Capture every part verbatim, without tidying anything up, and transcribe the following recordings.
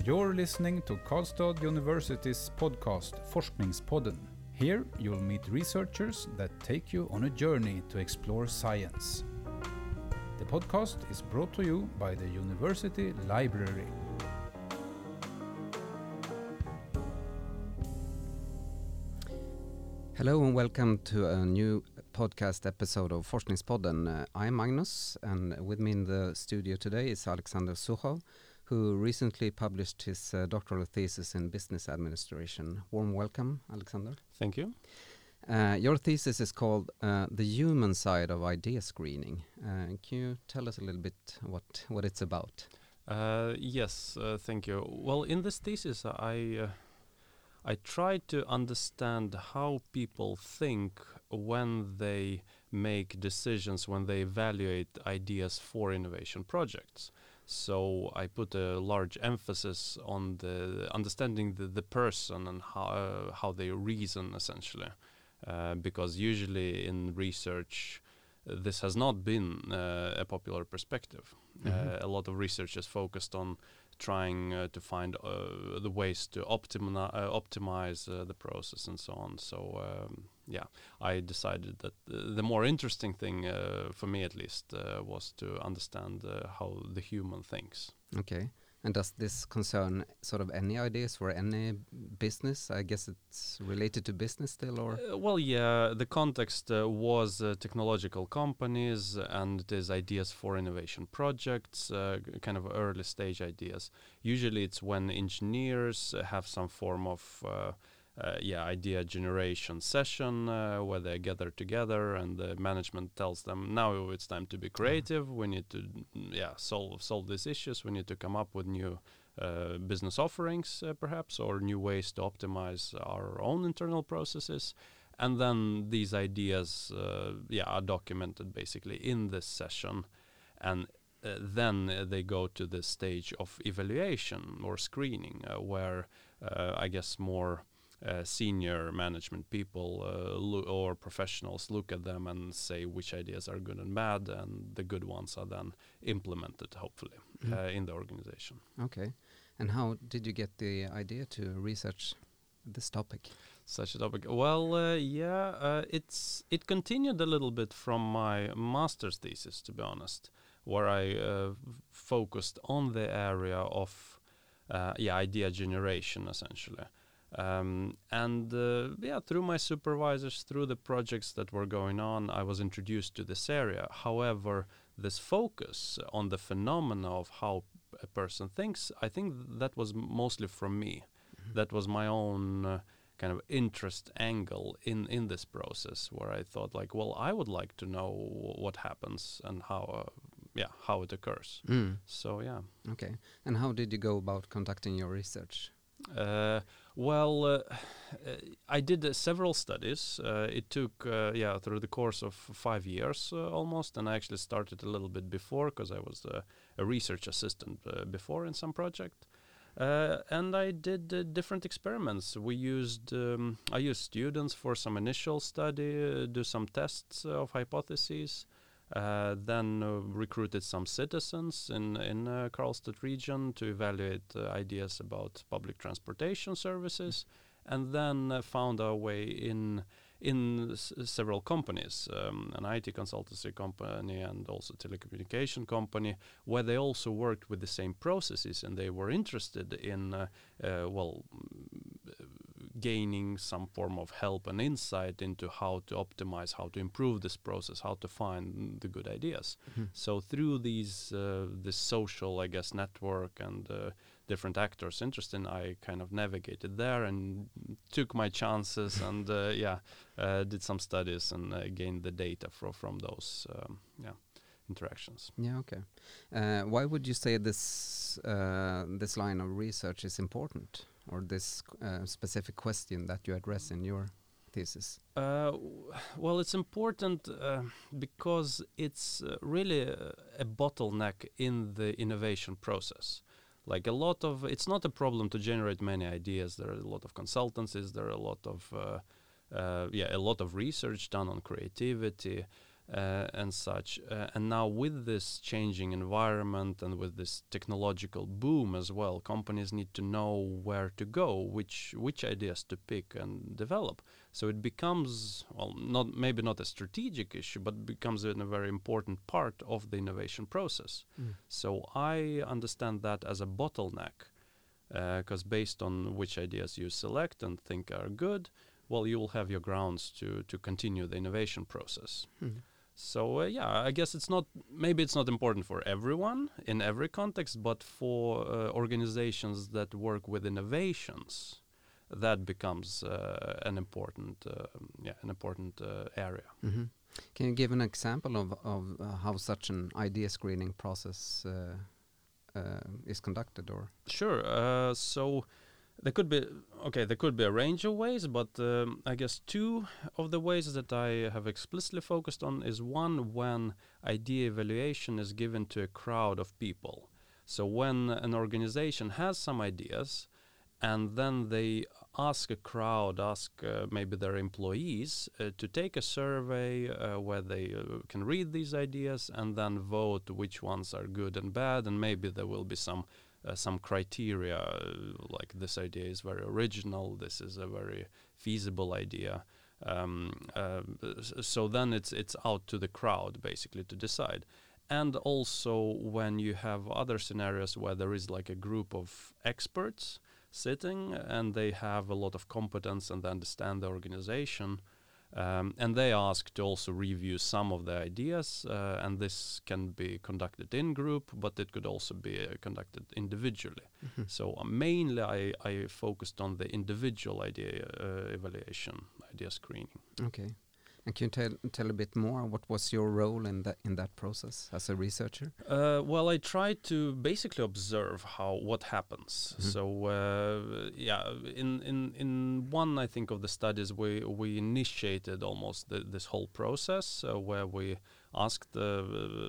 You're listening to Karlstad University's podcast Forskningspodden. Here you'll meet researchers that take you on a journey to explore science. The podcast is brought to you by the University Library. Hello and welcome to a new podcast episode of Forskningspodden. Uh, I'm Magnus, and with me in the studio today is Alexander Suchov, who recently published his uh, doctoral thesis in business administration. Warm welcome, Alexander. Thank you. Uh, your thesis is called uh, The Human Side of Idea Screening. Uh, can you tell us a little bit what, what it's about? Uh, yes, uh, thank you. Well, in this thesis, I uh, I tried to understand how people think when they make decisions, when they evaluate ideas for innovation projects. So I put a large emphasis on the understanding the, the person and how uh, how they reason, essentially, uh, because usually in research uh, this has not been uh, a popular perspective. Mm-hmm. Uh, a lot of research is focused on trying uh, to find uh, the ways to optimi- uh, optimize uh, the process and so on. So um, yeah, I decided that uh, the more interesting thing uh, for me, at least, uh, was to understand uh, how the human thinks. Okay. And does this concern sort of any ideas for any business? I guess it's related to business still, or? Uh, well, yeah, the context uh, was uh, technological companies and it is ideas for innovation projects, uh, g- kind of early stage ideas. Usually it's when engineers uh, have some form of uh, Uh, yeah, idea generation session uh, where they gather together and the management tells them, now it's time to be creative. Mm. We need to, yeah, solve solve these issues. We need to come up with new uh, business offerings, uh, perhaps, or new ways to optimize our own internal processes. And then these ideas, uh, yeah, are documented basically in this session, and uh, then uh, they go to the stage of evaluation or screening, uh, where uh, I guess more Uh, senior management people uh, lo- or professionals look at them and say which ideas are good and bad, and the good ones are then implemented, hopefully, mm. uh, in the organization. Okay. And how did you get the idea to research this topic? Such a topic? Well, uh, yeah, uh, it's it continued a little bit from my master's thesis, to be honest, where I uh, f- focused on the area of uh, yeah idea generation, essentially. Um, and uh, yeah, through my supervisors, through the projects that were going on, I was introduced to this area. However, this focus on the phenomena of how a person thinks, I think th- that was mostly from me. Mm-hmm. That was my own uh, kind of interest angle in, in this process, where I thought, like, well, I would like to know w- what happens and how, uh, yeah, how it occurs. Mm. So yeah. Okay. And how did you go about conducting your research? Uh, well, uh, uh, I did uh, several studies. Uh, it took, uh, yeah, through the course of five years uh, almost, and I actually started a little bit before because I was uh, a research assistant uh, before in some project. Uh, and I did uh, different experiments. We used, um, I used students for some initial study, uh, do some tests uh, of hypotheses. Uh, then uh, recruited some citizens in in uh, Karlstad region to evaluate uh, ideas about public transportation services, and then uh, found our way in in s- several companies, um, an I T consultancy company and also telecommunication company, where they also worked with the same processes, and they were interested in uh, uh, well. gaining some form of help and insight into how to optimize, how to improve this process, how to find the good ideas. Mm-hmm. So through these uh, this social, I guess, network and uh, different actors interested in, I kind of navigated there and took my chances and uh, yeah, uh, did some studies and uh, gained the data fro- from those um, yeah interactions. Yeah, okay. Uh, why would you say this uh, this line of research is important, or this uh, specific question that you address in your thesis? Uh, w- well, it's important uh, because it's uh, really a, a bottleneck in the innovation process. Like a lot of, it's not a problem to generate many ideas. There are a lot of consultancies. There are a lot of, uh, uh, yeah, a lot of research done on creativity. uh, and such. Uh, and now with this changing environment and with this technological boom as well, companies need to know where to go, which which ideas to pick and develop. So it becomes, well, not maybe not a strategic issue, but becomes a, a very important part of the innovation process. Mm. So I understand that as a bottleneck, because uh, based on which ideas you select and think are good, well, you will have your grounds to to continue the innovation process. Mm. So uh, yeah, I guess it's not, maybe it's not important for everyone in every context, but for uh, organizations that work with innovations, that becomes uh, an important, uh, yeah, an important uh, area. Mm-hmm. Can you give an example of of uh, how such an idea screening process uh, uh, is conducted, or? Sure. Uh, so there could be okay. There could be a range of ways, but um, I guess two of the ways that I have explicitly focused on is one when idea evaluation is given to a crowd of people. So when an organization has some ideas, and then they ask a crowd, ask uh, maybe their employees uh, to take a survey uh, where they uh, can read these ideas and then vote which ones are good and bad, and maybe there will be some uh, some criteria uh, like this idea is very original, this is a very feasible idea. Um, uh, so then it's it's out to the crowd basically to decide. And also when you have other scenarios where there is like a group of experts sitting and they have a lot of competence and they understand the organization, um, and they ask to also review some of the ideas, uh, and this can be conducted in group, but it could also be uh, conducted individually. Mm-hmm. So uh, mainly I, I focused on the individual idea uh, evaluation, idea screening. Okay. And can you tell tell a bit more? What was your role in that in that process as a researcher? Uh, well, I tried to basically observe how what happens. Mm-hmm. So uh, yeah, in, in in one I think of the studies we we initiated almost the, this whole process uh, where we asked uh,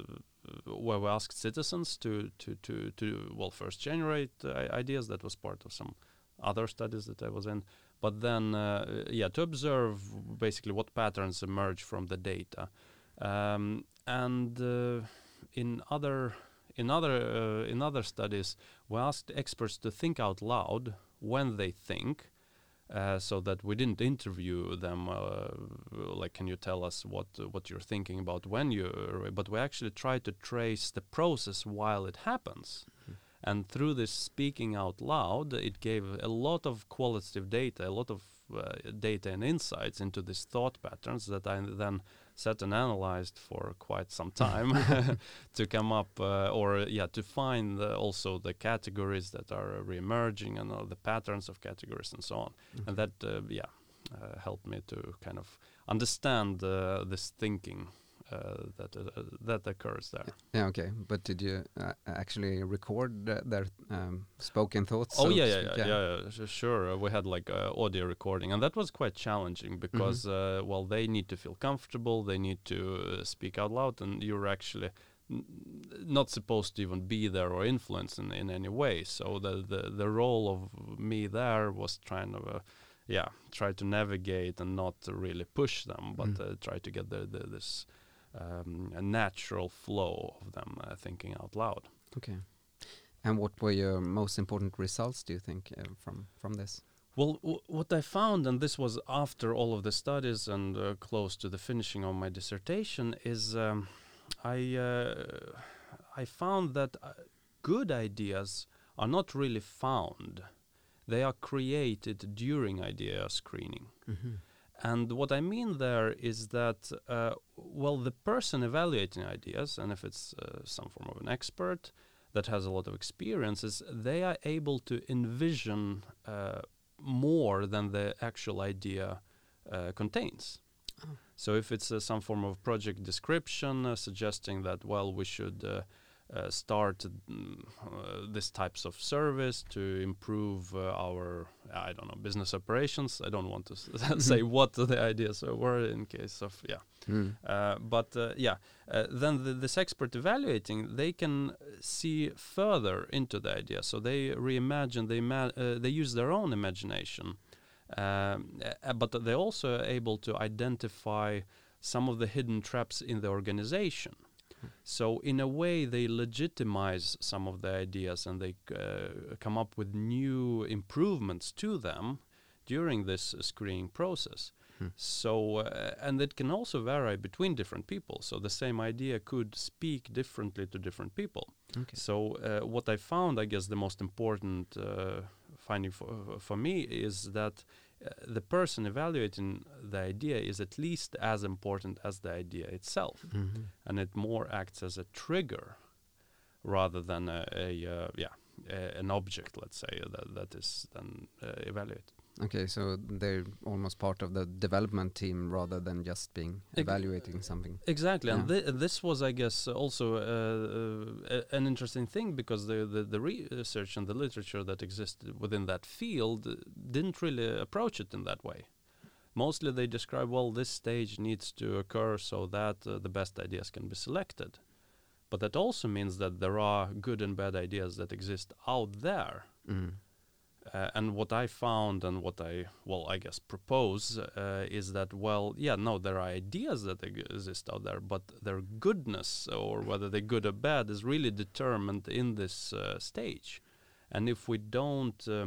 where we asked citizens to to to to well first generate uh, ideas. That was part of some other studies that I was in. But then, uh, yeah, to observe basically what patterns emerge from the data, um, and uh, in other in other uh, in other studies, we asked experts to think out loud when they think, uh, so that we didn't interview them uh, like, can you tell us what uh, what you're thinking about when you, but we actually tried to trace the process while it happens. Mm-hmm. And through this speaking out loud, it gave a lot of qualitative data, a lot of uh, data and insights into these thought patterns that I then sat and analyzed for quite some time to come up, uh, or yeah, to find uh, also the categories that are re-emerging and all the patterns of categories and so on. Mm-hmm. And that, uh, yeah, uh, helped me to kind of understand uh, this thinking Uh, that uh, that occurs there. Yeah, okay. But did you uh, actually record uh, their um, spoken thoughts? Oh so yeah, to yeah, speak? yeah, yeah, yeah, s- sure. Uh, we had like uh, audio recording, and that was quite challenging because, mm-hmm. uh, well, they need to feel comfortable, they need to uh, speak out loud, and you're actually n- not supposed to even be there or influence in, in any way. So the, the the role of me there was trying to, uh, yeah, try to navigate and not to really push them, but Mm. uh, try to get the, the this. Um, a natural flow of them uh, thinking out loud. Okay. And what were your most important results, do you think, uh, from from this? Well, w- what I found, and this was after all of the studies and uh, close to the finishing of my dissertation, is um, I uh, I found that uh, good ideas are not really found; they are created during idea screening. Mm-hmm. And what I mean there is that, uh, well, the person evaluating ideas, and if it's uh, some form of an expert that has a lot of experiences, they are able to envision uh, more than the actual idea uh, contains. Oh. So if it's uh, some form of project description uh, suggesting that, well, we should uh, uh, start mm, uh, this types of service to improve uh, our, I don't know, business operations. I don't want to s- say what the ideas were in case of, yeah. Mm. Uh, but uh, yeah, uh, then the, this expert evaluating, they can see further into the idea. So they reimagine, they, ima- uh, they use their own imagination. Um, uh, but they're also able to identify some of the hidden traps in the organization. So in a way, they legitimize some of the ideas and they uh, come up with new improvements to them during this uh, screening process. Hmm. So, uh, and it can also vary between different people. So the same idea could speak differently to different people. Okay. So uh, what I found, I guess the most important uh, finding for, for me is that uh, the person evaluating the idea is at least as important as the idea itself. Mm-hmm. And it more acts as a trigger rather than a, a uh, yeah, a, an object, let's say, that, that is then uh, evaluated. Okay, so they're almost part of the development team rather than just being Ex- evaluating something. Exactly, Yeah. and thi- this was, I guess, also uh, uh, an interesting thing because the, the the research and the literature that existed within that field uh, didn't really approach it in that way. Mostly they describe, well, this stage needs to occur so that uh, the best ideas can be selected. But that also means that there are good and bad ideas that exist out there. Mm. Uh, and what I found and what I, well, I guess propose uh, is that, well, yeah, no, there are ideas that eg- exist out there, but their goodness or whether they're good or bad is really determined in this uh, stage. And if we don't uh,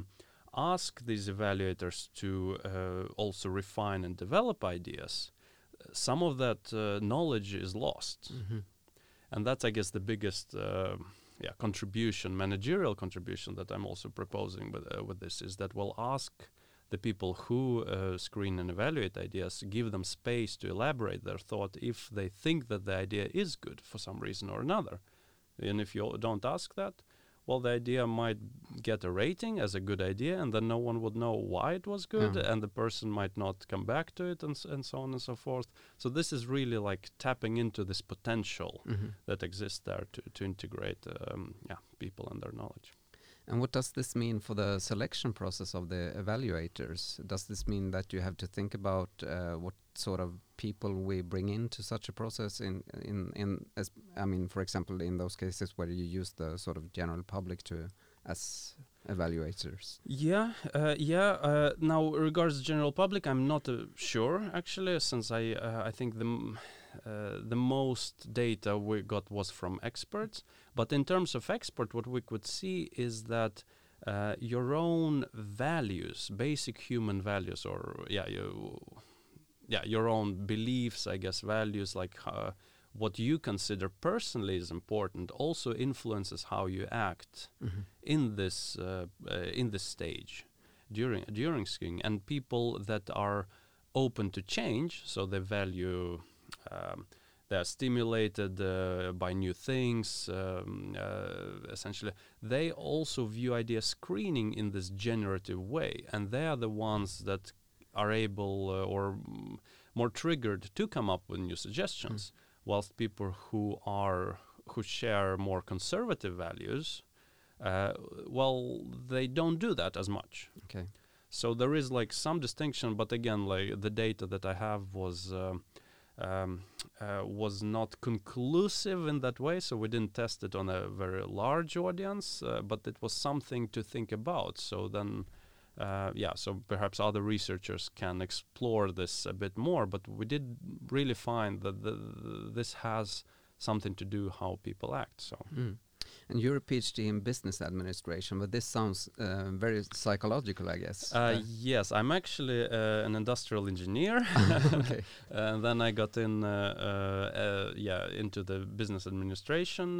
ask these evaluators to uh, also refine and develop ideas, some of that uh, knowledge is lost. Mm-hmm. And that's, I guess, the biggest uh, yeah, contribution, managerial contribution that I'm also proposing with uh, with this is that we'll ask the people who uh, screen and evaluate ideas, give them space to elaborate their thought if they think that the idea is good for some reason or another. And if you don't ask that, well, the idea might get a rating as a good idea, and then no one would know why it was good, Yeah. and the person might not come back to it, and, s- and so on and so forth. So this is really like tapping into this potential Mm-hmm. that exists there to, to integrate um, yeah, people and their knowledge. And what does this mean for the selection process of the evaluators? Does this mean that you have to think about uh, what sort of people we bring into such a process? In in in, as, I mean, for example, in those cases where you use the sort of general public to as evaluators. Yeah, uh, yeah. Uh, now, regards general public, I'm not uh, sure actually, since I uh, I think the m- uh, the most data we got was from experts. But in terms of expert, what we could see is that uh, your own values, basic human values, or yeah, you, yeah, your own beliefs, I guess, values like uh, what you consider personally is important, also influences how you act Mm-hmm. in this uh, uh, in this stage during during skiing. And people that are open to change, so they value um, they are stimulated uh, by new things, um, uh, essentially they also view idea screening in this generative way, and they are the ones that are able uh, or mm, more triggered to come up with new suggestions, mm. whilst people who are who share more conservative values, uh, well, they don't do that as much. Okay. So there is like some distinction, but again, like the data that I have was um, um, uh, was not conclusive in that way. So we didn't test it on a very large audience, uh, but it was something to think about. So then, uh, yeah, so perhaps other researchers can explore this a bit more. But we did really find that the, the, this has something to do how people act. So. Mm. And you're a PhD in business administration, but this sounds uh, very psychological, I guess. Uh, uh, yes, I'm actually uh, an industrial engineer. Okay. And then I got in, uh, uh, uh, yeah, into the business administration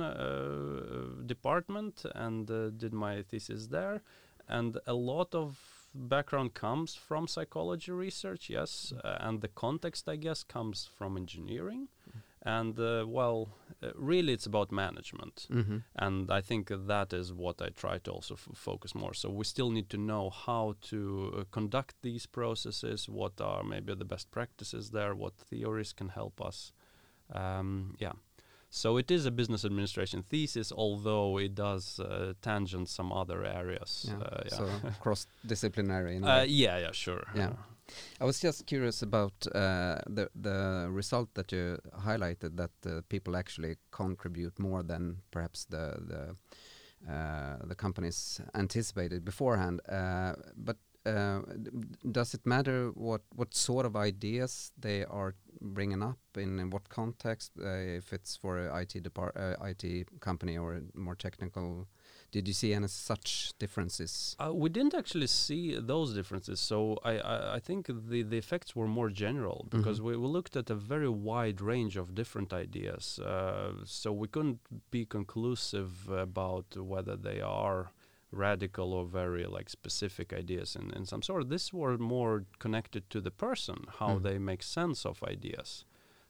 uh, department and uh, did my thesis there. And a lot of background comes from psychology research, yes, mm. uh, and the context, I guess, comes from engineering. Mm. And, uh, well, uh, really it's about management. Mm-hmm. And I think uh, that is what I try to also f- focus more. So we still need to know how to uh, conduct these processes, what are maybe the best practices there, what theories can help us. Um, yeah. So it is a business administration thesis, although it does uh, tangent some other areas. Yeah. Uh, yeah. So cross-disciplinary. In a uh, way. yeah, yeah, sure. Yeah. Uh, I was just curious about uh, the the result that you highlighted, that uh, people actually contribute more than perhaps the the uh, the companies anticipated beforehand. Uh, but uh, d- does it matter what, what sort of ideas they are bringing up in, in what context? Uh, if it's for a I T depart uh, I T company or a more technical, did you see any such differences? Uh, we didn't actually see those differences. So I, I, I think the, the effects were more general because Mm-hmm. we, we looked at a very wide range of different ideas. Uh, so we couldn't be conclusive about whether they are radical or very like specific ideas in, in some sort. This were more connected to the person, how Mm. they make sense of ideas.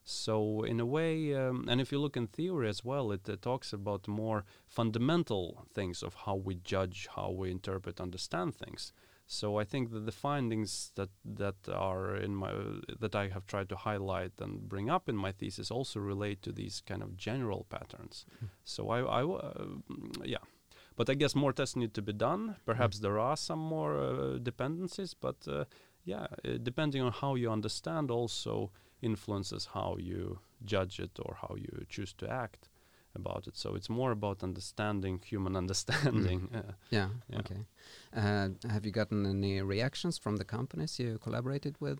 So in a way, um, and if you look in theory as well, it uh, talks about more fundamental things of how we judge, how we interpret, understand things. So I think that the findings that that are in my uh, that I have tried to highlight and bring up in my thesis also relate to these kind of general patterns. Mm. So I, I w- uh, yeah. But I guess more tests need to be done. Perhaps Mm. there are some more uh, dependencies, but uh, yeah, uh, depending on how you understand also influences how you judge it or how you choose to act about it. So it's more about understanding human understanding. Uh, Yeah, Yeah. okay. Uh, have you gotten any reactions from the companies you collaborated with?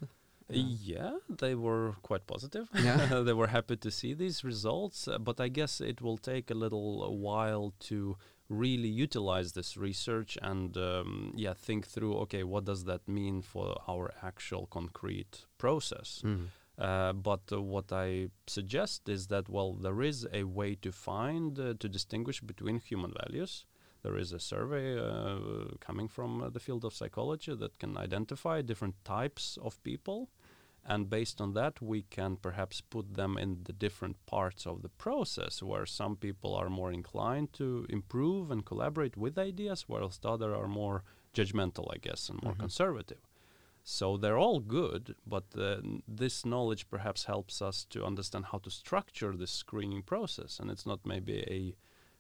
yeah, they were quite positive. Yeah. They were happy to see these results, uh, but I guess it will take a little while to really utilize this research and um, yeah, think through, okay, what does that mean for our actual concrete process? Mm. Uh, but uh, what I suggest is that, well, there is a way to find, uh, to distinguish between human values. There is a survey uh, coming from uh, the field of psychology that can identify different types of people. And based on that, we can perhaps put them in the different parts of the process, where some people are more inclined to improve and collaborate with ideas, whilst others are more judgmental, I guess, and more Mhm. conservative. So they're all good, but uh, n- this knowledge perhaps helps us to understand how to structure this screening process. And it's not maybe a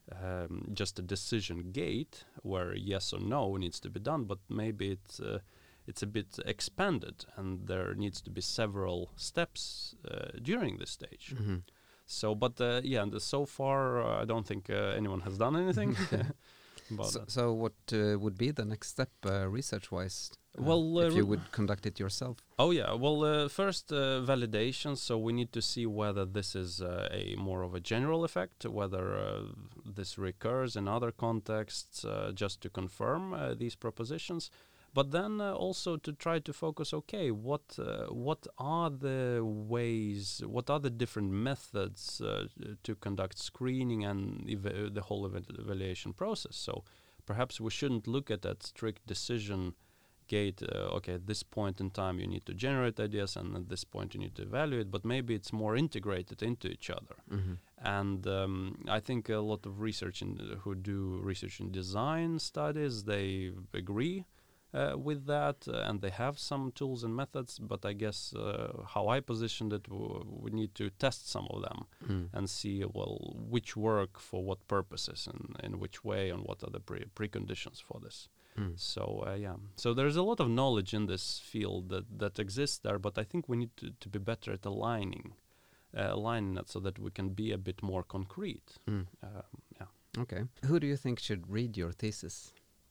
um, just a decision gate where yes or no needs to be done, but maybe it's uh, it's a bit expanded, and there needs to be several steps uh, during this stage. Mhm. So, but uh, yeah, and so far uh, I don't think uh, anyone has done anything about So, that. so what uh, would be the next step uh, research-wise? uh, Well, uh, if you re- would conduct it yourself. Oh yeah, well uh, first uh, validation, so we need to see whether this is uh, a more of a general effect, whether uh, this recurs in other contexts, uh, just to confirm uh, these propositions. But then uh, also to try to focus, okay, what uh, what are the ways, what are the different methods uh, to conduct screening and eva- the whole eva- evaluation process. So perhaps we shouldn't look at that strict decision gate, uh, okay, at this point in time you need to generate ideas and at this point you need to evaluate, but maybe it's more integrated into each other. Mhm. And um, I think a lot of research in, who do research in design studies, they agree uh, with that, uh, and they have some tools and methods, but I guess uh, how I positioned it, w- we need to test some of them Mm. and see, well, which work for what purposes and in which way and what are the pre- preconditions for this. Mm. So uh, yeah, so there's a lot of knowledge in this field that, that exists there, but I think we need to, to be better at aligning, uh, aligning that so that we can be a bit more concrete. Mm. Um, yeah. Okay. Who do you think should read your thesis?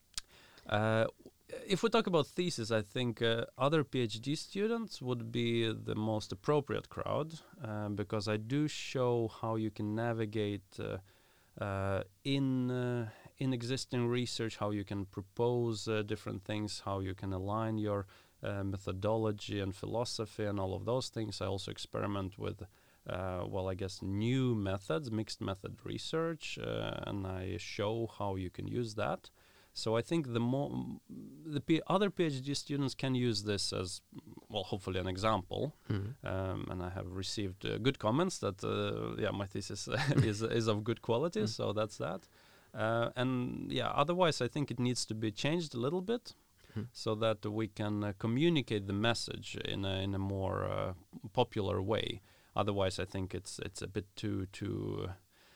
Uh, if we talk about thesis, I think uh, other PhD students would be the most appropriate crowd uh, because I do show how you can navigate uh, uh, in uh, in existing research, how you can propose uh, different things, how you can align your uh, methodology and philosophy and all of those things. I also experiment with, uh, well, I guess new methods, mixed method research, uh, and I show how you can use that. So I think the more the P- other PhD students can use this as, well, hopefully an example. Mm. Um, and I have received uh, good comments that uh, yeah, my thesis is is of good quality. Mm. So that's that. Uh, and yeah, otherwise I think it needs to be changed a little bit Mm. so that we can uh, communicate the message in a in a more uh, popular way. Otherwise, I think it's it's a bit too too.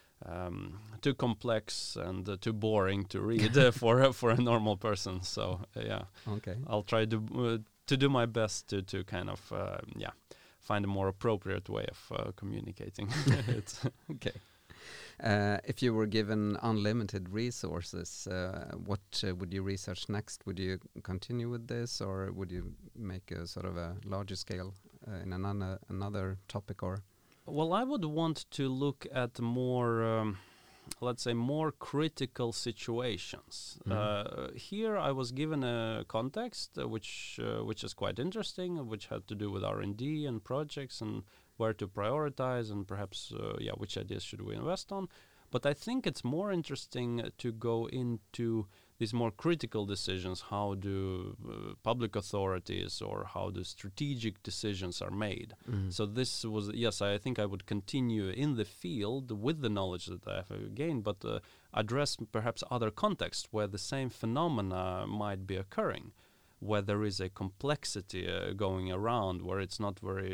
Um, too complex and uh, too boring to read uh, for uh, for a normal person. So uh, yeah, Okay. I'll try to uh, to do my best to to kind of uh, yeah find a more appropriate way of uh, communicating it. Okay. Uh, if you were given unlimited resources, uh, what uh, would you research next? Would you continue with this, or would you make a sort of a larger scale uh, in another another topic? Or well, I would want to look at more, um, let's say, more critical situations. Mhm. Uh, here, I was given a context uh, which uh, which is quite interesting, which had to do with R and D and projects and where to prioritize and perhaps, uh, yeah, which ideas should we invest on. But I think it's more interesting to go into these more critical decisions. How do uh, public authorities or how do strategic decisions are made? Mhm. So this was, yes, I think I would continue in the field with the knowledge that I have gained, but uh, address perhaps other contexts where the same phenomena might be occurring, where there is a complexity uh, going around, where it's not very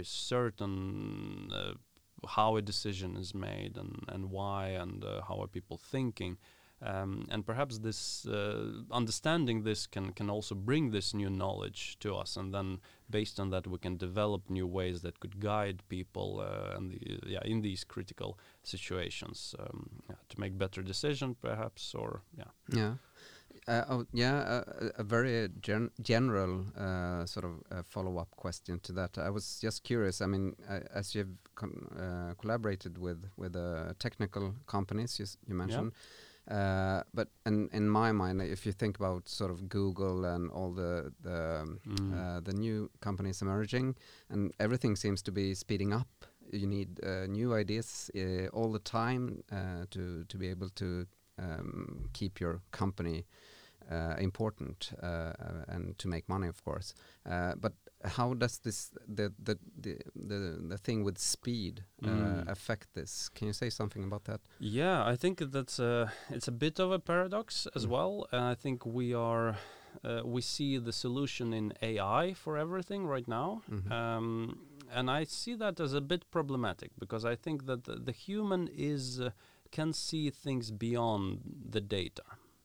certain uh, how a decision is made and, and why and uh, how are people thinking. Um, and perhaps this uh, understanding this can, can also bring this new knowledge to us, and then based on that we can develop new ways that could guide people uh, and the, yeah, in these critical situations um, yeah, to make better decisions perhaps, or yeah. Yeah. Uh, oh, yeah, uh, a very gen general uh, sort of uh, follow-up question to that. I was just curious. I mean, uh, as you've con uh, collaborated with with uh, technical companies, you, s you mentioned, yeah. uh, but in in my mind, if you think about sort of Google and all the the um, Mm. uh, the new companies emerging, and everything seems to be speeding up. You need uh, new ideas uh, all the time uh, to to be able to um, keep your company Uh, important uh, uh, and to make money, of course. Uh, but how does this the the the the, the thing with speed uh, Mm. affect this? Can you say something about that? Yeah, I think that's a, it's a bit of a paradox as Mm. well. And I think we are uh, we see the solution in A I for everything right now. Mhm. Um, and I see that as a bit problematic, because I think that the, the human is uh, can see things beyond the data.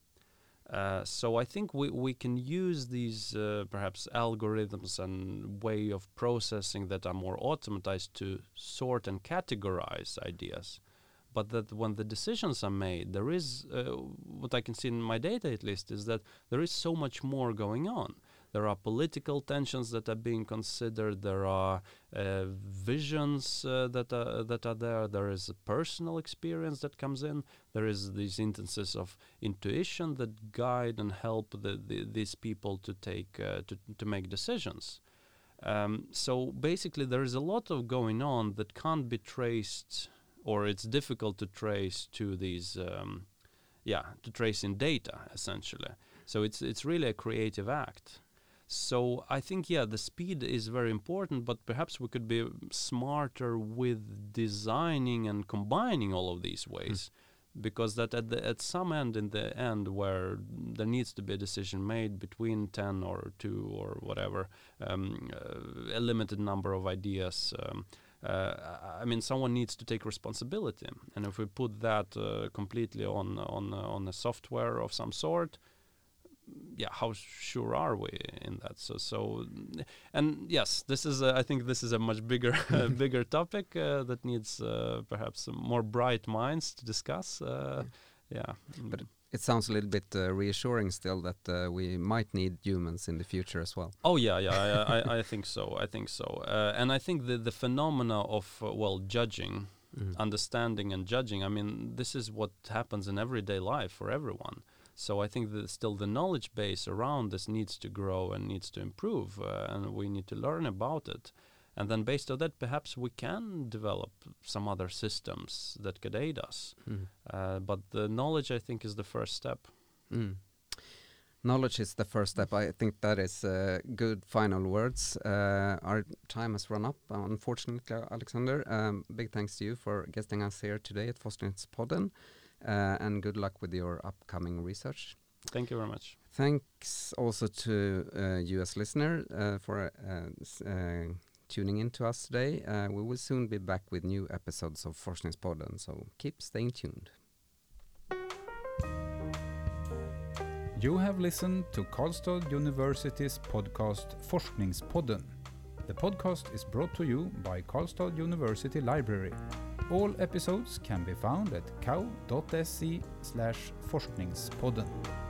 Uh, so I think we, we can use these uh, perhaps algorithms and way of processing that are more automatized to sort and categorize ideas. But that when the decisions are made, there is, uh, what I can see in my data at least, is that there is so much more going on. There are political tensions that are being considered. There are uh, visions uh, that are that are there. There is a personal experience that comes in. There is these instances of intuition that guide and help the, the, these people to take uh, to to make decisions. Um, so basically, there is a lot of going on that can't be traced, or it's difficult to trace to these, um, yeah, to trace in data essentially. So it's it's really a creative act. So I think, yeah, the speed is very important, but perhaps we could be smarter with designing and combining all of these ways, mm. because that at the at some end in the end where there needs to be a decision made between ten or two or whatever, um, uh, a limited number of ideas. Um, Uh, I mean, someone needs to take responsibility, and if we put that uh, completely on on uh, on a software of some sort, yeah, how sure are we in that? So, so, and yes, this is a, I think this is a much bigger uh, bigger topic uh, that needs uh, perhaps some more bright minds to discuss. Uh, yeah, but it sounds a little bit uh, reassuring still that uh, we might need humans in the future as well. Oh yeah, yeah, I, I, I think so. I think so, uh, and I think the the phenomena of uh, well judging, mm. understanding, and judging. I mean, this is what happens in everyday life for everyone. So I think that still the knowledge base around this needs to grow and needs to improve, uh, and we need to learn about it. And then based on that, perhaps we can develop some other systems that could aid us. Mm. Uh, but the knowledge, I think, is the first step. Mm. Knowledge is the first step. I think that is uh, good final words. Uh, our time has run up, unfortunately, Alexander. Um, big thanks to you for guesting us here today at Forskningspodden. Uh, and good luck with your upcoming research. Thank you very much. Thanks also to uh, you as listener uh, for uh, uh, tuning in to us today. Uh, we will soon be back with new episodes of Forskningspodden, so keep staying tuned. You have listened to Karlstad University's podcast Forskningspodden. The podcast is brought to you by Karlstad University Library. All episodes can be found at cow dot se slash forskningspodden.